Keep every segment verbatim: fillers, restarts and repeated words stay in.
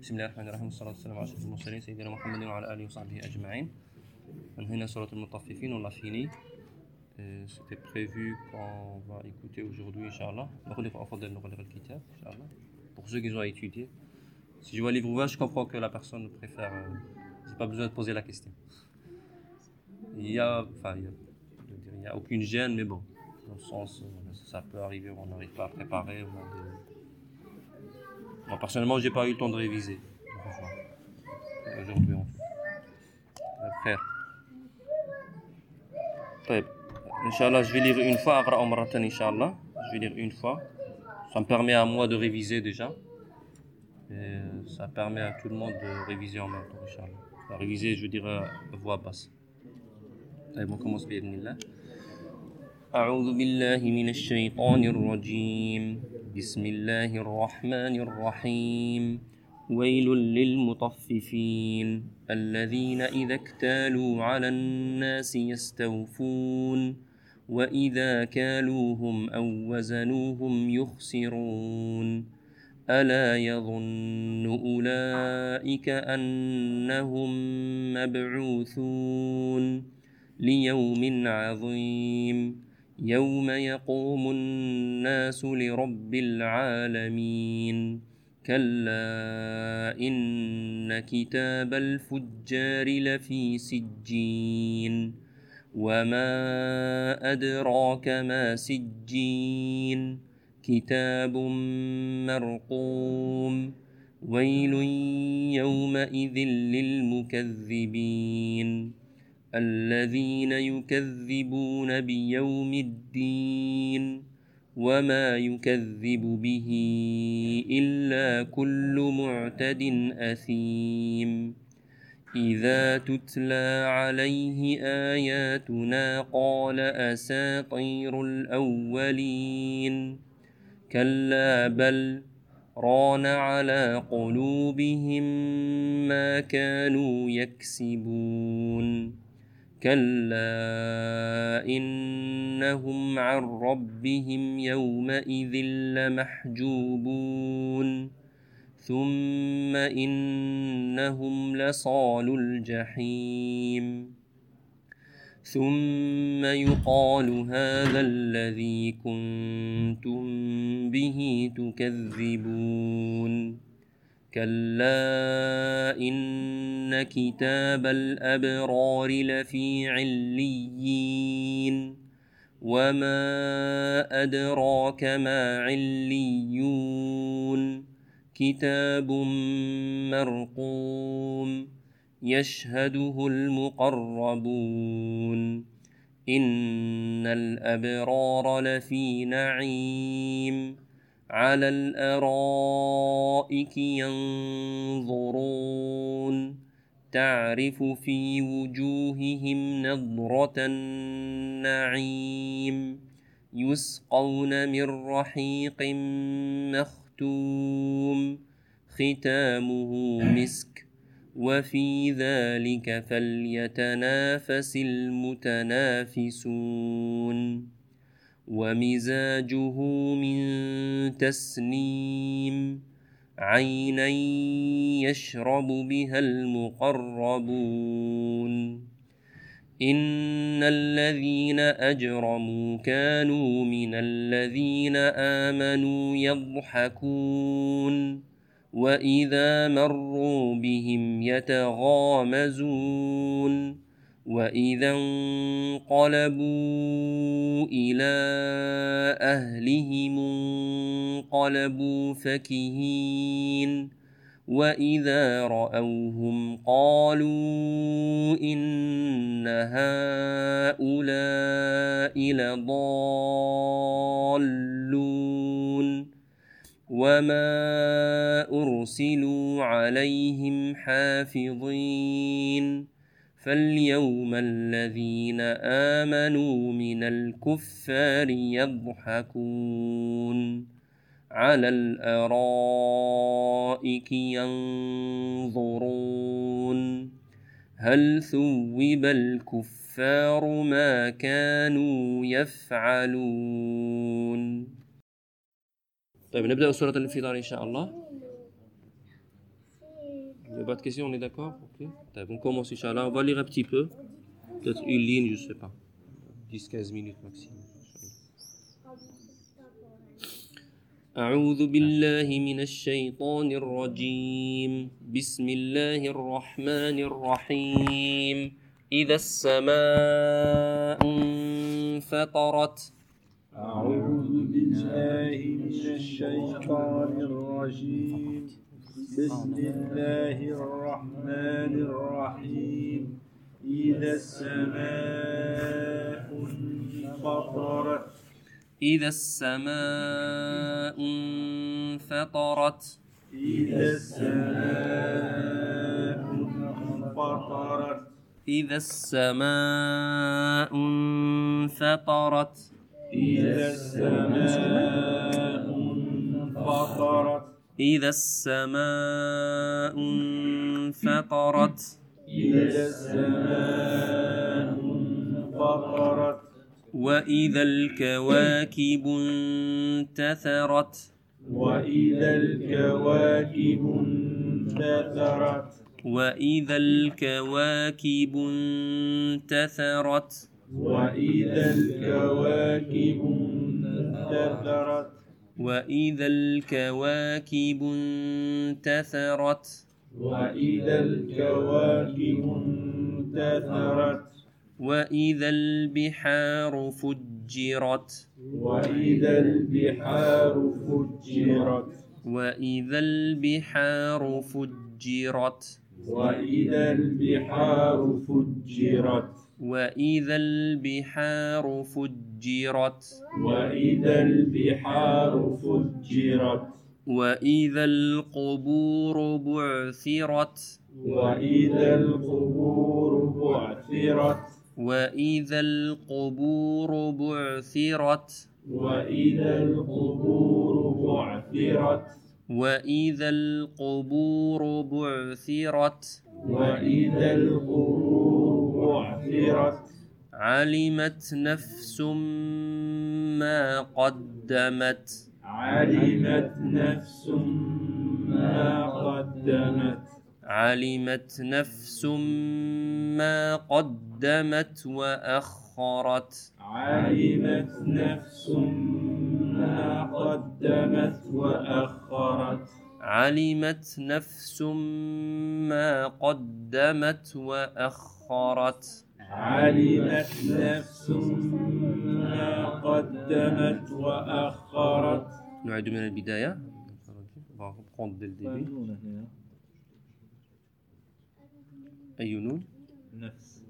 بسم الله الرحمن الرحيم والصلاة والسلام على أشرف المرسلين سيدنا محمد وعلى آله وصحبه أجمعين. انهينا سورة المطففين, on l'a fini. Euh, C'était prévu qu'on va écouter aujourd'hui, Inch'Allah. Pour ceux qui ont à étudier. Si je vois un livre ouvert, je comprends que la personne préfère. Euh, j'ai pas besoin de poser la question. Il y a, enfin, il y a, je veux dire, il y a aucune gêne, mais bon, dans le sens, euh, ça peut arriver, on n'arrive pas à préparer. On a des... Moi, personnellement, j'ai pas eu le temps de réviser. Aujourd'hui, en fait. Frère. طيب. Inch'Allah, je vais lire une fois, أقرأ مرة ثانية, Inch'Allah. Je vais lire une fois. Ça me permet à moi de réviser déjà. Et ça permet à tout le monde de réviser en même temps, Inch'Allah. À réviser, je veux dire, à voix basse. طيب, on commence بإذن الله. أعوذ بالله من الشيطان الرجيم. بسم الله الرحمن الرحيم. ويل للمطففين الذين إذا اكتالوا على الناس يستوفون وإذا كالوهم أو وزنوهم يخسرون ألا يظن أولئك أنهم مبعوثون ليوم عظيم يوم يقوم الناس لرب العالمين كلا إن كتاب الفجار لفي سجين وما أدراك ما سجين كتاب مرقوم ويل يومئذ للمكذبين الذين يكذبون بيوم الدين وما يكذب به إلا كل معتد أثيم إذا تتلى عليه آياتنا قال أساطير الأولين كلا بل ران على قلوبهم ما كانوا يكسبون كلا إنهم عن ربهم يومئذ لمحجوبون ثم إنهم لصالو الجحيم ثم يقال هذا الذي كنتم به تكذبون كلا إن كتاب الأبرار لفي عليين وما أدراك ما عليون كتاب مرقوم يشهده المقربون إن الأبرار لفي نعيم على الأرائك ينظرون تعرف في وجوههم نضرة النعيم يسقون من رحيق مختوم ختامه مسك وفي ذلك فليتنافس المتنافسون ومزاجه من تسنيم عينا يشرب بها المقربون إن الذين أجرموا كانوا من الذين آمنوا يضحكون وإذا مروا بهم يتغامزون وإذا انقلبوا إلى أهلهم انقلبوا فكهين وإذا رأوهم قالوا إن هؤلاء لضالون وما أرسلوا عليهم حافظين فاليوم الذين آمنوا من الكفار يضحكون على الأرائك ينظرون هل ثوب الكفار ما كانوا يفعلون. طيب نبدأ سورة الانفطار إن شاء الله. n'y a pas de questions, on est d'accord? Ok. On commence, Inch'Allah. On va lire un petit peu. Peut-être une ligne, je ne sais pas. dix quinze minutes maximum. أعوذ بالله من الشيطان الرجيم بسم الله الرحمن الرحيم إذا السماء انفطرت أعوذ بالله من الشيطان الرجيم بسم الله الرحمن الرحيم إذا السماء انفطرت إذا السماء انفطرت إذا السماء انفطرت إذا السماء انفطرت إذا السماء انفطرت إذا السماء انفطرت إذا السماء انفطرت وإذا الكواكب انتثرت وإذا الكواكب انتثرت وإذا الكواكب انتثرت وإذا الكواكب انتثرت وإذا الكواكب انتثرت وإذا الكواكب انتثرت وإذا البحار فجرت وإذا البحار فجرت وإذا البحار فجرت وإذا البحار فجرت وإذا البحار فجرت وإذا البحار فجرت وإذا القبور بعثرت وإذا القبور بعثرت وإذا القبور بعثرت وإذا القبور بعثرت وإذا القبور بعثرت وإذا القبور بعثرت علمت نفس ما قدمت علمت نفس ما قدمت علمت نفس ما قدمت وأخرت علمت نفس ما قدمت وأخرت علمت نفس ما قدمت وأخرت علمت نفس ما قدمت وأخرت نعيد من البداية. On va reprendre dès le début. أي نون؟ نفس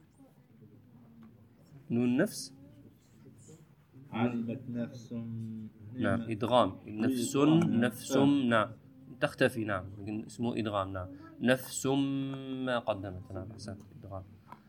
نون نفس؟ علمت نفس نعم إدغام نفس نفس نعم تختفي نعم اسمه إدغام نعم نفس ما قدمت نعم أحسنت إدغام.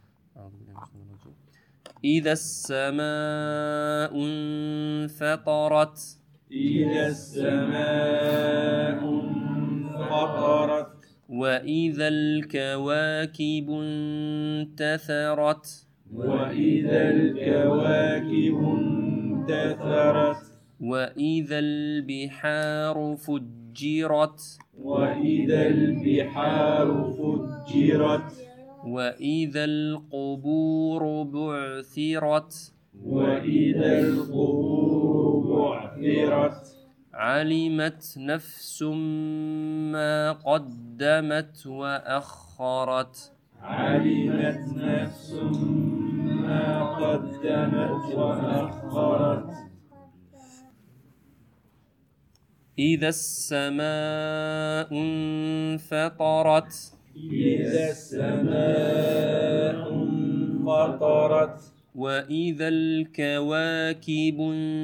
إذا السماء انفطرت إذا السماء انفطرت وإذا الكواكب انتثرت وإذا الكواكب انتثرت وإذا البحار فجرت وإذا البحار فجرت وإذا القبور بعثرت وإذا القبور بعثرت علمت نفس ما قدمت وأخرت علمت نفس ما قدمت وأخرت إذا السماء انفطرت إذا السماء انفطرت وإذا الكواكب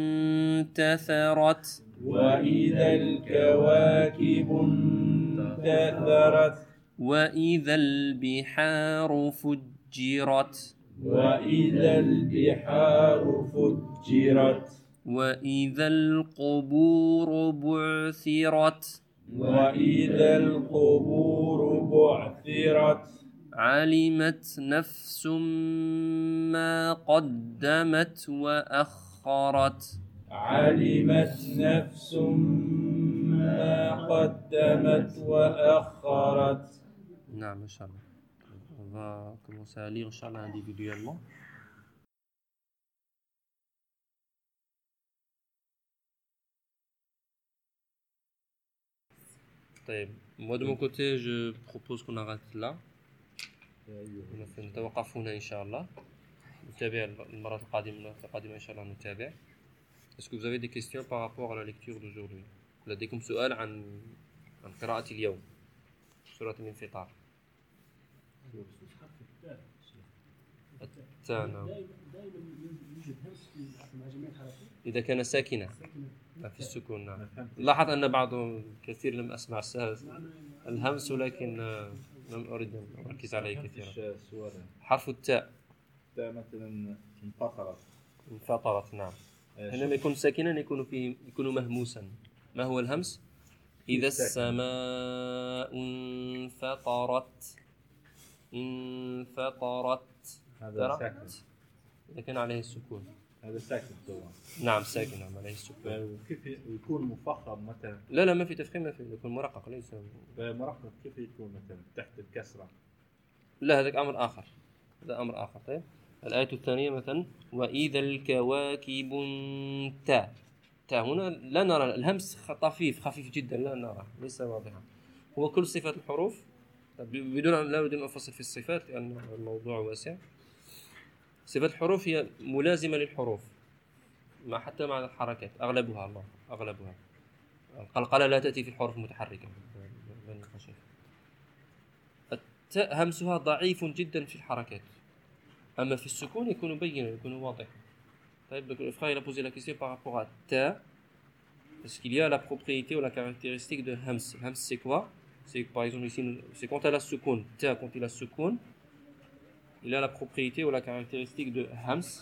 انتثرت وإذا الكواكب انتثرت وإذا البحار فجرت وإذا البحار فجرت وإذا القبور بعثرت وإذا القبور بعثرت علمت نفس ما قدمت وأخرت علمت نفس ما قدمت وأخرت نعم إن شاء الله. On va commencer à lire Inch'Allah individuellement. طيب. Moi de mon côté je propose qu'on arrête là. نتوقف هنا إن شاء الله. نتابع المرة القادمة القادمة إن شاء الله نتابع. Est-ce que vous avez des questions par rapport à la lecture d'aujourd'hui? لديكم سؤال عن عن قراءة اليوم سورة الانفطار. التاء نعم. إذا كان ساكنة في السكون نعم. لاحظ أن بعض كثير لم أسمع الهمس ولكن لم أريد أن أركز عليه كثيرا. حرف التاء. التاء مثلا انفطرت. انفطرت نعم. حينما يكون ساكنا يكون فيه يكون مهموسا. ما هو الهمس؟ إذا السماء انفطرت انفطرت هذا ساكن. إذا كان عليه السكون هذا ساكن طبعا. نعم ساكن نعم عليه السكون. وكيف يكون مفخم مثلا؟ لا لا ما في تفخيم ما في يكون مرقق ليس مرقق. كيف يكون مثلا تحت الكسرة؟ لا هذا أمر آخر. هذا أمر آخر. طيب الآية الثانية مثلا وإذا الكواكب انتهت. هنا لا نرى الهمس طفيف خفيف جدا لا نرى ليس واضحا. هو كل صفات الحروف بدون لا بدون أفصل في الصفات لأن الموضوع واسع. صفات الحروف هي ملازمة للحروف ما حتى مع الحركات أغلبها الله أغلبها. القلقلة لا تأتي في الحروف المتحركة. التاء همسها ضعيف جدا في الحركات أما في السكون يكون بينا يكون واضح. طيب le frère il a posé la question par rapport à ta parce qu'il y a la propriété ou la caractéristique de hams. Hams c'est quoi? C'est par exemple ici c'est quand elle a sukun. Ta quand il a sukun il a la propriété ou la caractéristique de hams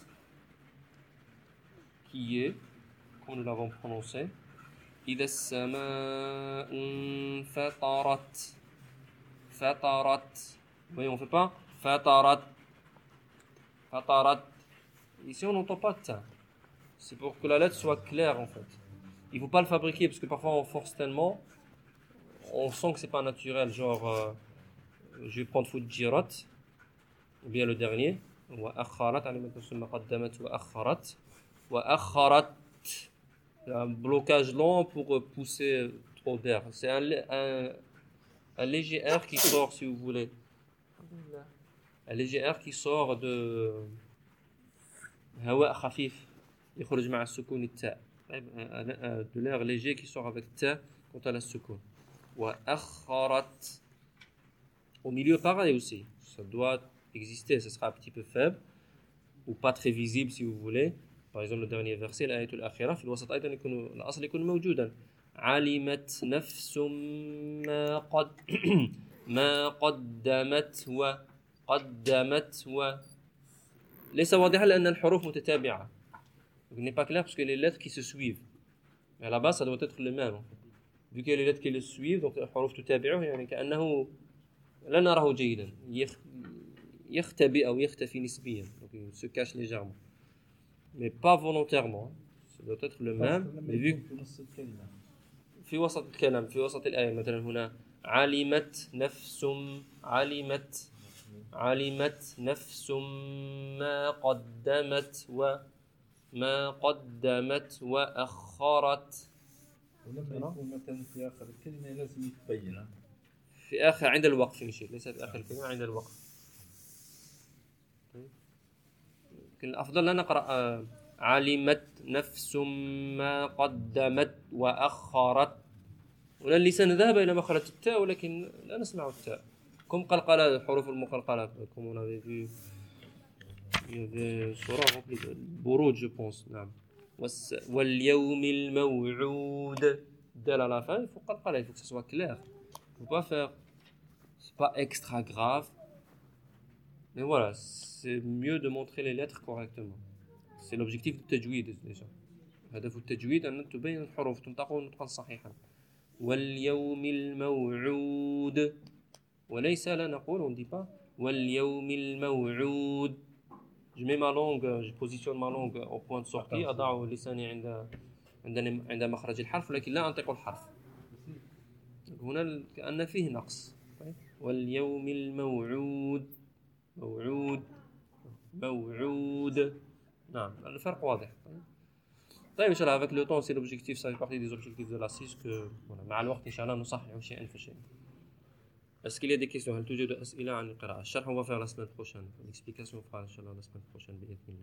qui est comme nous l'avons prononcé إذا السماء انفطرت فطرت. Voyez on fait pas فطرت فطرت. Ici, on n'entend pas de ta. C'est pour que la lettre soit claire, en fait. Il ne faut pas le fabriquer, parce que parfois, on force tellement, on sent que c'est pas naturel. Genre, euh, je vais prendre Fujirat, ou bien le dernier. وأخرت على ثم قدمت وأخرت وأخرت. Un blocage lent pour pousser trop d'air. C'est un, un, un léger air qui sort, si vous voulez. Un léger air qui sort de... هواء خفيف يخرج مع السكون التاء. de l'air léger qui sort avec ta quand elle a السكون. وأخرت. Au milieu pareil aussi, ça doit exister, ça sera un petit peu faible ou pas très visible si vous voulez. Par exemple le dernier verset الآية الأخيرة في الوسط أيضا يكون الأصل يكون موجودا. علمت نفس ما قد ما قدمت وقدمت و ليس واضحا لأن الحروف متتابعة. Il n'est pas clair parce que les lettres qui se suivent. Mais à la base ça doit être le même. Vu qu'il y a les lettres qui le suivent donc الحروف تتابعه يعني كأنه لا نراه جيدا يختبئ أو يختفي نسبيا. Donc il se cache légèrement. Mais pas volontairement. Ça doit être le même. Mais vu في وسط الكلام في وسط الآية مثلا هنا علمت نفس علمت علمت نفس ما قدمت وما قدمت وأخرت. ولما يكون مثلا في آخر الكلمة لازم يتبين في آخر عند الوقف نشير ليس في آخر الكلمة عند الوقف. لكن الأفضل لا نقرأ علمت نفس ما قدمت وأخرت. ولا اللسان ذهب إلى مخرج التاء ولكن لا نسمع التاء. Comme قلقلة الحروف المقلقلة comme on avait vu il y avait surah remplie de buruj je pense. نعم. واليوم الموعود دال à la fin il faut قلقلة il faut que ce soit clair. Il ne faut pas faire c'est pas extra grave mais voilà c'est mieux de montrer les lettres correctement. C'est l'objectif du tajwid déjà. هدف التجويد أن تبين الحروف تنطق نطقا صحيحا. واليوم الموعود وليس لا نقول on dit pas واليوم الموعود. Je mets ma langue, je positionne ma langue au point de sortie. أضع لساني عند عند عند مخرج الحرف لكن لا أنطق الحرف. هنا كأن فيه نقص طيب. واليوم الموعود موعود موعود نعم الفرق واضح. طيب طيب ان شاء الله avec le temps c'est l'objectif ça fait partie des objectifs de la six que voilà مع الوقت ان شاء الله نصحح شيئا فشيئا. Est-ce qu'il y a des questions؟ هل توجد أسئلة عن القراءة؟ الشرح on va faire la semaine prochaine. L'explication on fera إن شاء الله la semaine prochaine بإذن الله.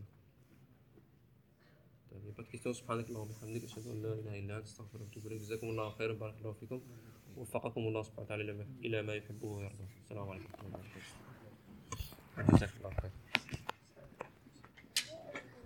طيب il n'y a pas de questions. سبحانك اللهم وبحمدك أشهد أن لا إله إلا أنت أستغفرك وأتوب إليك. جزاكم الله خيرا بارك الله فيكم ووفقكم الله سبحانه وتعالى إلى ما يحبه ويرضى. السلام عليكم ورحمة الله وبركاته. جزاك الله خير.